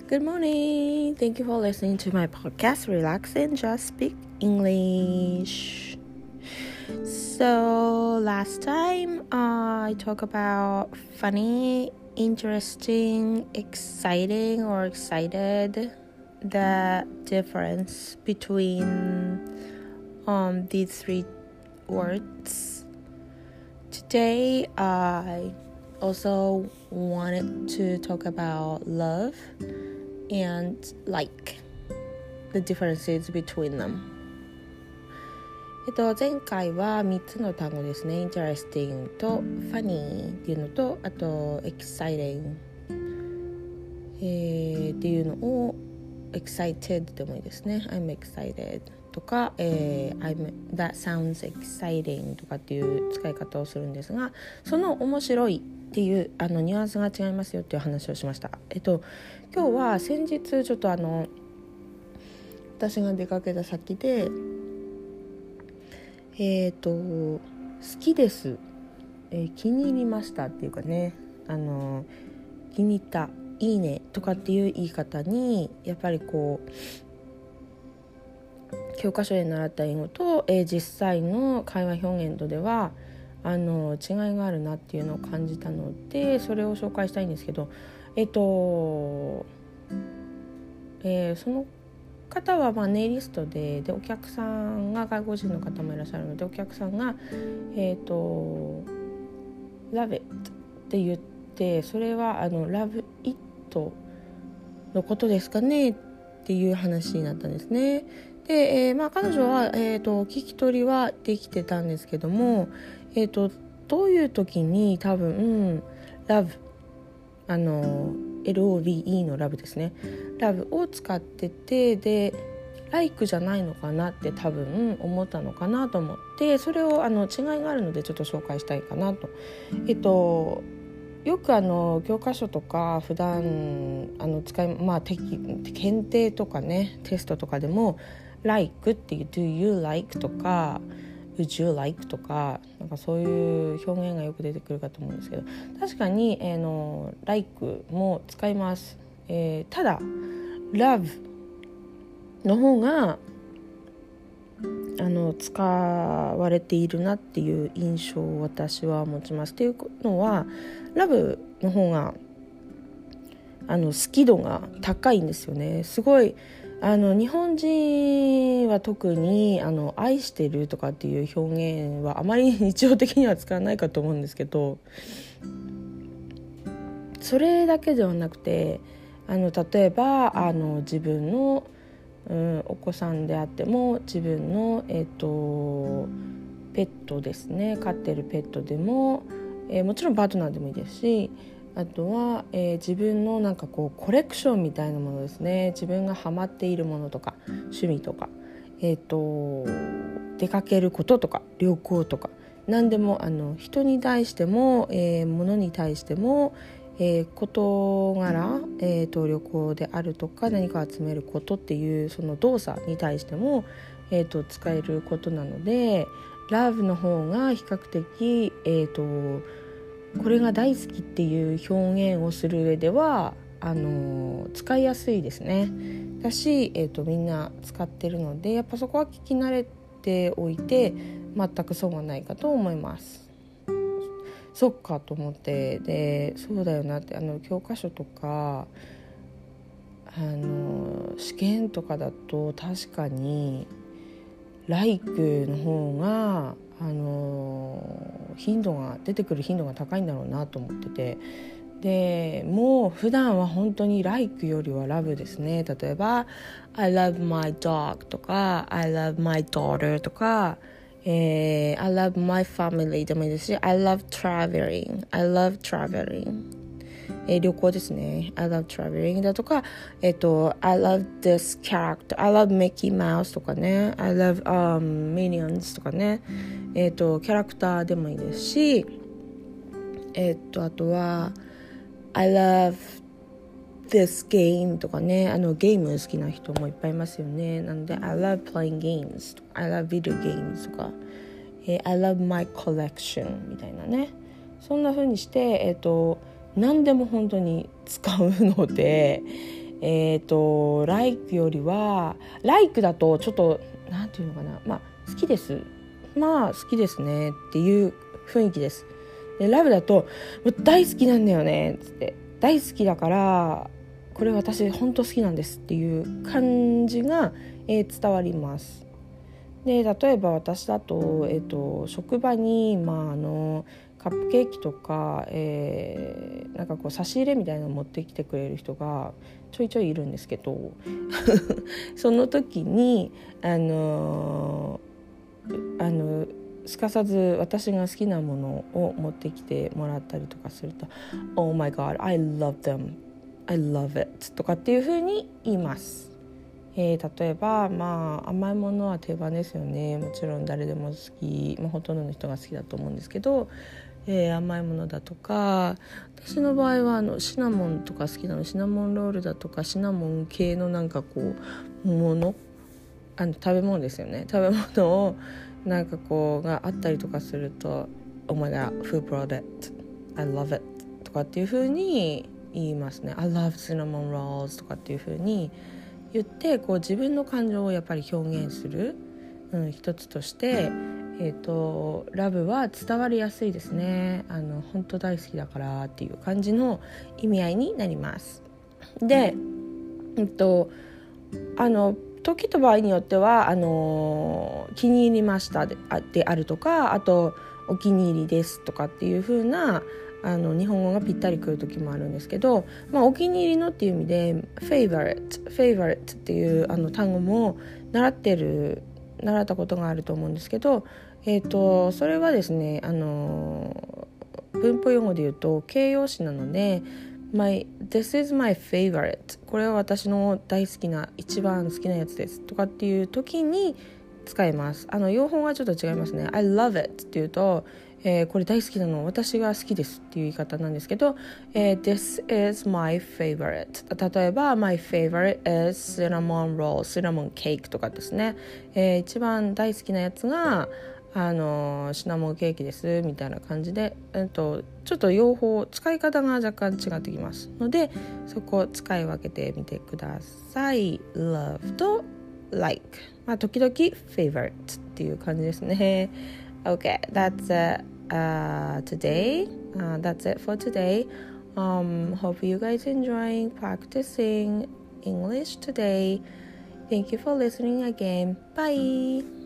Good morning. Thank you for listening to my podcast, Relax and Just Speak English. So last time I talked about funny, interesting, exciting or excited, the difference between these three words. Today I also wanted to talk about love and like the differences between them. 前回は3つの単語ですね。interesting と funny っていうのと、あと exciting、っていうのを excited でもいいですね。I'm excited とか、that sounds exciting とかっていう使い方をするんですが、その面白いっていうニュアンスが違いますよっていう話をしました。今日は先日ちょっと私が出かけた先で好きです、気に入りましたっていうかね、気に入った、いいねとかっていう言い方にやっぱりこう教科書で習った英語と、実際の会話表現とでは違いがあるなっていうのを感じたので、それを紹介したいんですけど、その方はネイリストでお客さんが外国人の方もいらっしゃるので、お客さんがlove it って言って、それはlove it のことですかねっていう話になったんですね。で、彼女は、聞き取りはできてたんですけども、どういう時に多分、love LOVE のラブですね、ラブを使ってて、でlike じゃないのかなって多分思ったのかなと思って、それを違いがあるのでちょっと紹介したいかなと。よく教科書とか普段検定とかね、テストとかでも like っていう do you like とかwould you like とか、なんかそういう表現がよく出てくるかと思うんですけど、確かに、like も使います。ただ love の方が使われているなっていう印象を私は持ちます。っていうのは love の方が好き度が高いんですよね。すごい日本人は特に愛してるとかっていう表現はあまり日常的には使わないかと思うんですけど、それだけではなくて例えば自分の、お子さんであっても、自分の、ペットですね、飼ってるペットでも、もちろんパートナーでもいいですし、あとは、自分のなんかこうコレクションみたいなものですね。自分がハマっているものとか趣味とか、出かけることとか旅行とか何でも人に対しても、物に対しても、事柄、旅行であるとか何か集めることっていうその動作に対しても、使えることなので Love の方が比較的、これが大好きっていう表現をする上では使いやすいですね。だし、みんな使ってるので、やっぱそこは聞き慣れておいて全く損はないかと思います。そっかと思って、でそうだよなって教科書とか試験とかだと確かに like の方が出てくる頻度が高いんだろうなと思ってて、でもう普段は本当に like よりは love ですね。例えば I love my dog とか I love my daughter とか、I love my family でもいいですし、 I love traveling 旅行ですね。 I love traveling だとか、I love this character I love Mickey Mouse とかね、 I love、Minions とかね、キャラクターでもいいですし、あとは I love this game とかね、ゲーム好きな人もいっぱいいますよね。なので I love playing games とか I love video games とか、I love my collection みたいなね、そんな風にして、何でも本当に使うので、 like よりは like だとちょっとなんていうのかな、好きです、好きですねっていう雰囲気です。で love だともう大好きなんだよねつって、大好きだからこれ私本当好きなんですっていう感じが、伝わります。で例えば私だと、職場に、カップケーキとか、なんかこう差し入れみたいなのを持ってきてくれる人がちょいちょいいるんですけどその時にすかさず私が好きなものを持ってきてもらったりとかすると Oh my god, I love them, I love it とかっていう風に言います。例えば、甘いものは定番ですよね。もちろん誰でも好き、ほとんどの人が好きだと思うんですけど、甘いものだとか、私の場合はシナモンとか好きなの。シナモンロールだとかシナモン系のなんかこうもの、食べ物ですよね。食べ物をなんかこうがあったりとかすると Oh my god, who brought it? I love it とかっていう風に言いますね。I love cinnamon rolls とかっていう風に言ってこう自分の感情をやっぱり表現する、一つとして、ラブは伝わりやすいですね。本当大好きだからっていう感じの意味合いになります。で、時と場合によっては気に入りましたであるとか、あとお気に入りですとかっていう風な日本語がぴったりくる時もあるんですけど、お気に入りのっていう意味で favorite っていう単語も習ったことがあると思うんですけど、それはですね文法用語で言うと形容詞なのでThis is my favorite これは私の大好きな一番好きなやつですとかっていう時に使います。用法がちょっと違いますね。 I love it っていうとこれ大好きなの私が好きですっていう言い方なんですけど、This is my favorite 例えば My favorite is cinnamon roll cinnamon cake とかですね、一番大好きなやつがシナモンケーキですみたいな感じで、ちょっと用法使い方が若干違ってきますので、そこを使い分けてみてください。 Love と like、時々 favorite っていう感じですね。 Okay, that's today. That's it for today. Hope you guys enjoying practicing English today. Thank you for listening again. Bye.